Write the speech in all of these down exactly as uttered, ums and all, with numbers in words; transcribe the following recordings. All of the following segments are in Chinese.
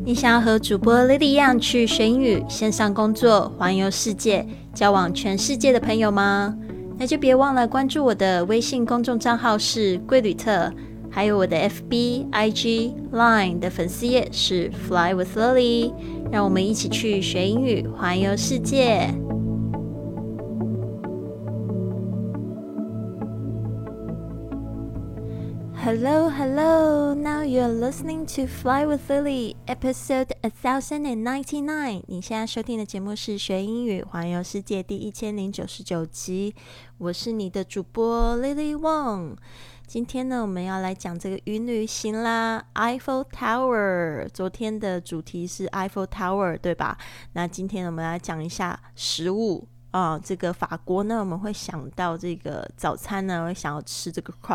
你想要和主播 Lily 一样去学英语、线上工作、环游世界、交往全世界的朋友吗？那就别忘了关注我的微信公众账号是贵旅特，还有我的 F B、I G、Line 的粉丝页是 Fly with Lily， 让我们一起去学英语、环游世界。Hello, hello. Now you're listening to Fly with Lily, episode one thousand ninety-nine. 你现在收听的节目是学英语环游世界第一千零九十九集。我是你的主播 Lily Wong。今天呢，我们要来讲这个云旅行啦 ，Eiffel Tower。昨天的主题是 Eiffel Tower， 对吧？那今天我们来讲一下食物。啊、呃，这个法国呢，我们会想到这个早餐呢，会想要吃这个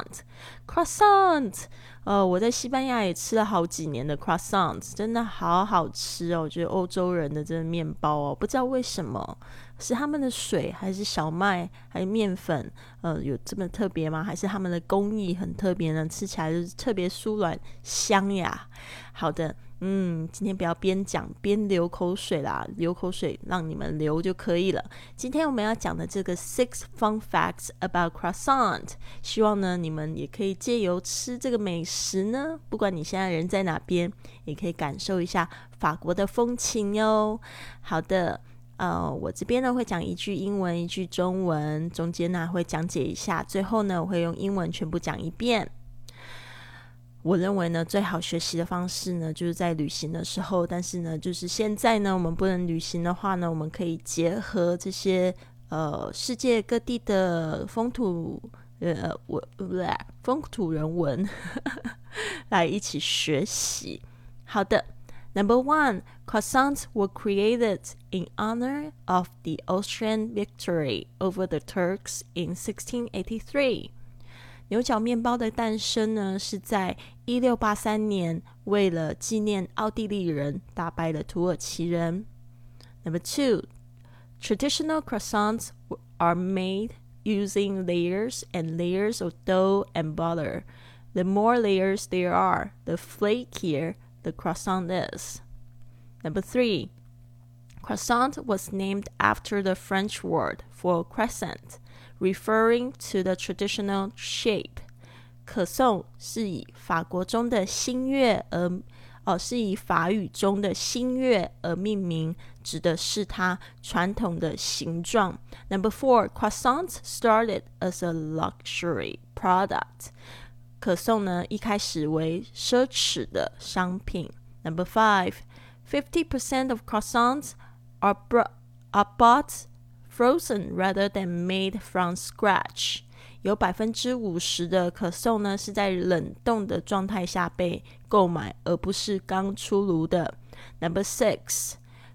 croissant，croissant。呃，我在西班牙也吃了好几年的 croissant， 真的好好吃哦。我觉得欧洲人的这个面包哦，不知道为什么是他们的水，还是小麦，还是面粉，呃，有这么特别吗？还是他们的工艺很特别呢？吃起来就是特别酥软香呀。好的。嗯，今天不要边讲边流口水啦，流口水让你们流就可以了。今天我们要讲的这个 six fun facts about croissant， 希望呢你们也可以借由吃这个美食呢，不管你现在人在哪边，也可以感受一下法国的风情哟。好的。呃，我这边呢会讲一句英文一句中文，中间呢会讲解一下，最后呢我会用英文全部讲一遍。我认为呢，最好学习的方式呢，就是在旅行的时候。但是呢，就是现在呢，我们不能旅行的话呢，我们可以结合这些呃世界各地的风土呃我不对风土人文来一起学习。好的 ，Number one, croissants were created in honor of the Austrian victory over the Turks in sixteen eighty-three.牛角面包的诞生呢，是在一六八三年，为了纪念奥地利人打败了土耳其人。Number two, traditional croissants are made using layers and layers of dough and butter. The more layers there are, the flakier the croissant is. Number three, croissant was named after the French word for crescent.Referring to the traditional shape， 可颂是以法国中的新月而哦，是以法语中的新月而命名，指的是它传统的形状。Number four, croissants started as a luxury product。可颂呢，一开始为奢侈的商品。Number five, fifty percent of croissants are, br- are bought.Frozen rather than made from scratch， 有 百分之五十 的可颂呢是在冷冻的状态下被购买，而不是刚出炉的。Number six,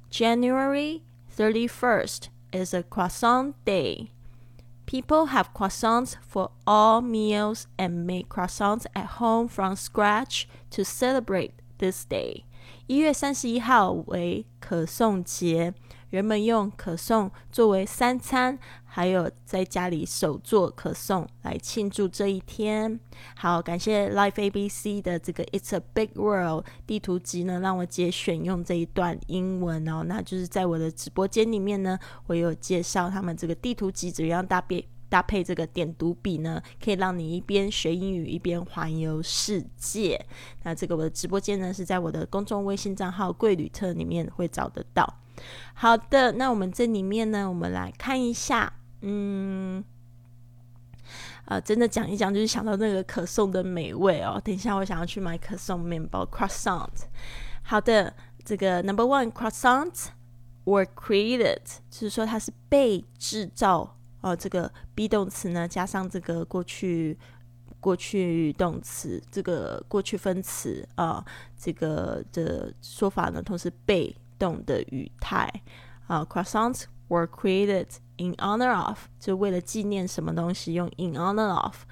January thirty-first is a croissant day. People have croissants for all meals and make croissants at home from scratch to celebrate this day. 一月三十一号为可颂节。人们用可颂作为三餐，还有在家里手做可颂来庆祝这一天。好，感谢 Life A B C 的这个 It's a Big World 地图集呢，让我节选用这一段英文哦。那就是在我的直播间里面呢，我有介绍他们这个地图集怎样搭配搭配这个点读笔呢，可以让你一边学英语一边环游世界。那这个我的直播间呢，是在我的公众微信账号贵旅特里面会找得到。好的，那我们这里面呢，我们来看一下，嗯，呃，真的讲一讲，就是想到那个可颂的美味哦。等一下，我想要去买可颂面包 croissant。好的，这个 number one, croissants were created， 就是说它是被制造哦。这个 be 动词呢，加上这个过去过去动词，这个过去分词啊、呃，这个的说法呢，同时被动的语态啊、uh, ，croissants were created in honor of， 就为了纪念什么东西，用 in honor of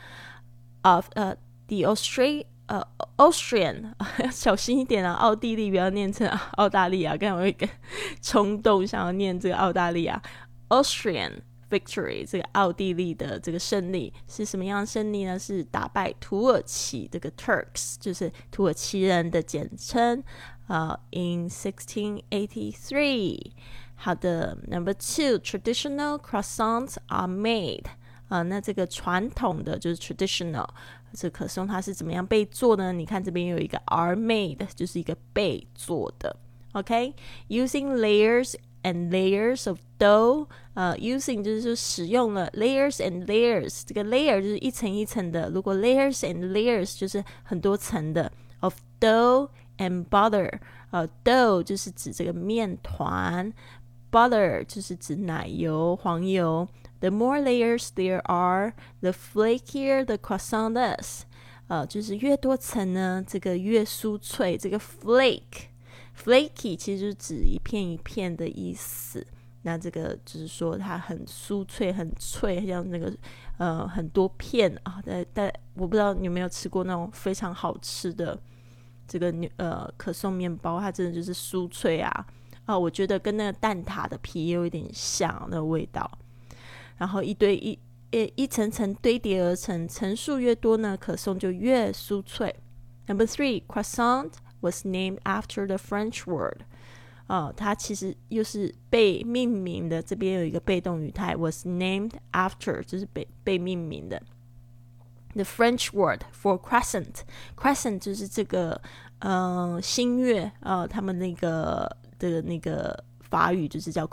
of 呃、uh, the Austria 呃、uh, Austrian 要小心一点啊，奥地利不要念成澳大利亚，刚才我有一个冲动想要念这个澳大利亚 Austrian victory， 这个奥地利的这个胜利是什么样的胜利呢？是打败土耳其这个 Turks， 就是土耳其人的简称。Uh, in sixteen eighty-three. 好的 Number two, traditional croissants are made. 呃，那这个传统的就是 traditional， 这可颂它是怎么样被做呢？你看这边有一个 are made， 就是一个被做的。OK, using layers and layers of dough. 呃 using 就是说使用了 layers and layers， 这个 layer 就是一层一层的，如果 layers and layers 就是很多层的 of dough and butter， 呃 dough 就是指这个面团， butter 就是指奶油黄油。 The more layers there are, the flakier the croissant is， 呃就是越多层呢这个越酥脆。这个 flake flaky 其实就是指一片一片的意思，那这个就是说它很酥脆很脆，像那个呃很多片啊，但但我不知道你有没有吃过那种非常好吃的这个呃可颂面包，它真的就是酥脆啊啊，我觉得跟那个蛋挞的皮也有一点像那个味道。然后一堆一一一层层堆叠而成，层数越多呢，可颂就越酥脆。Number three, croissant was named after the French word。哦，它其实又是被命名的，这边有一个被动语态 was named after， 就是被被命名的。The French word for crescent， crescent 就是这个呃新月，呃他们那个的那个法语就是叫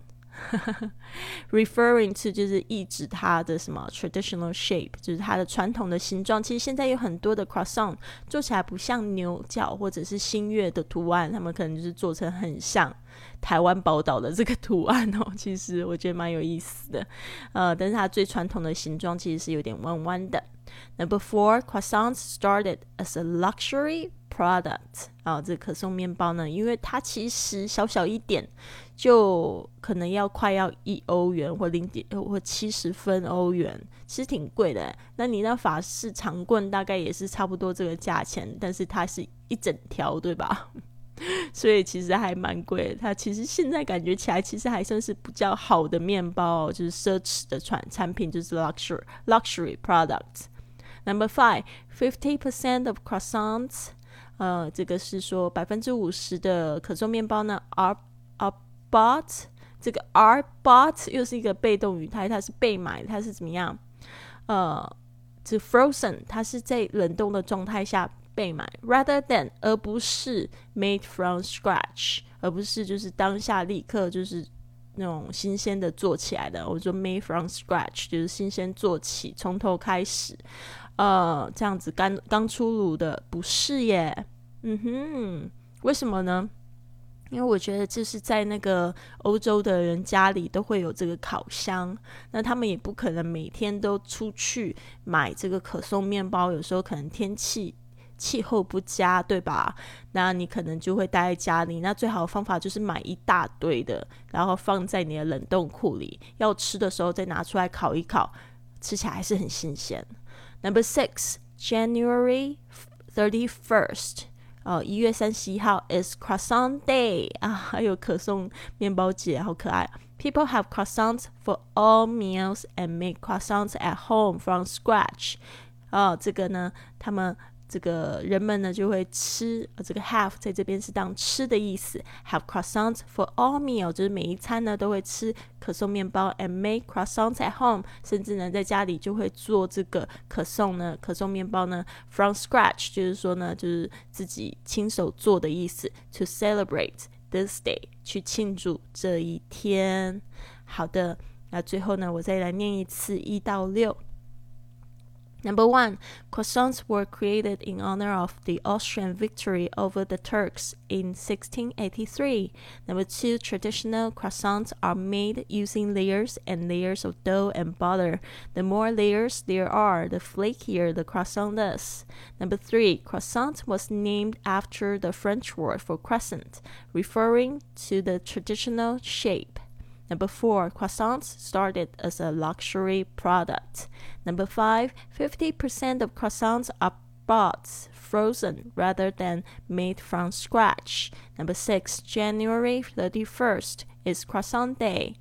croissant。referring to 就是意指它的什么 traditional shape， 就是它的传统的形状。其实现在有很多的 croissant 做起来不像牛角或者是新月的图案，他们可能就是做成很像台湾宝岛的这个图案哦。其实我觉得蛮有意思的，呃，但是它最传统的形状其实是有点弯弯的。Number four, croissants started as a luxury product。啊，这可颂面包呢，因为它其实小小一点，就可能要快要一欧元或零点或七十分欧元，其实挺贵的。那你那法式长棍大概也是差不多这个价钱，但是它是一整条，对吧？所以其实还蛮贵的。它其实现在感觉起来，其实还算是比较好的面包哦，就是奢侈的产产品，就是 luxury luxury product。Number five, fifty percent of croissants， 呃，这个是说百分之五十的可颂面包呢 are are bought， 这个 are bought 又是一个被动语态，它是被买，它是怎么样？呃，这 frozen 它是在冷冻的状态下被买 ，rather than 而不是 made from scratch， 而不是就是当下立刻就是那种新鲜的做起来的。我说 made from scratch 就是新鲜做起，从头开始。呃，这样子刚刚出炉的不是耶，嗯哼，为什么呢？因为我觉得这是在那个欧洲的人家里都会有这个烤箱，那他们也不可能每天都出去买这个可颂面包，有时候可能天气气候不佳，对吧？那你可能就会待在家里，那最好的方法就是买一大堆的，然后放在你的冷冻库里，要吃的时候再拿出来烤一烤，吃起来还是很新鲜。Number six, January thirty-first， 哦，一月三十一号 is croissant day 啊，还有可颂面包节，好可爱。People have croissants for all meals and make croissants at home from scratch。哦，这个呢，他们这个人们呢就会吃，呃、这个 have 在这边是当吃的意思。Have croissants for all meal 就是每一餐呢都会吃可颂面包 ，and make croissants at home， 甚至呢在家里就会做这个可颂呢，可颂面包呢 from scratch， 就是说呢就是自己亲手做的意思。To celebrate this day， 去庆祝这一天。好的，那最后呢我再来念一次一到六。Number one, croissants were created in honor of the Austrian victory over the Turks in sixteen eighty-three. Number two, traditional croissants are made using layers and layers of dough and butter. The more layers there are, the flakier the croissant is. Number three, croissant was named after the French word for crescent, referring to the traditional shape.Number four, croissants started as a luxury product. Number five, fifty percent of croissants are bought frozen rather than made from scratch. Number six, January thirty-first is croissant day.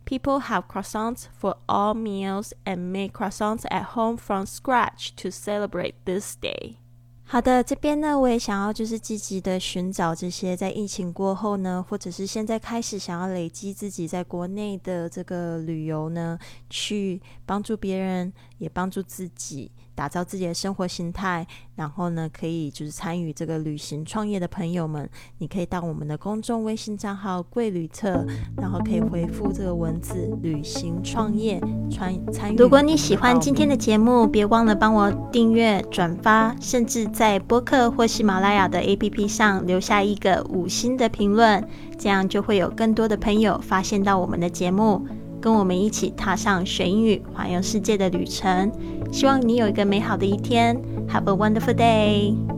People have croissants for all meals and make croissants at home from scratch to celebrate this day. 好的，这边呢我也想要就是积极的寻找这些在疫情过后呢，或者是现在开始想要累积自己在国内的这个旅游呢，去帮助别人也帮助自己打造自己的生活形态，然后呢可以就是参与这个旅行创业的朋友们，你可以到我们的公众微信账号贵旅特，然后可以回复这个文字旅行创业参与。如果你喜欢今天的节目，别忘了帮我订阅转发，甚至在播客或喜马拉雅的 A P P 上留下一个五星的评论，这样就会有更多的朋友发现到我们的节目，跟我们一起踏上学英语环游世界的旅程。希望你有一个美好的一天。Have a wonderful day!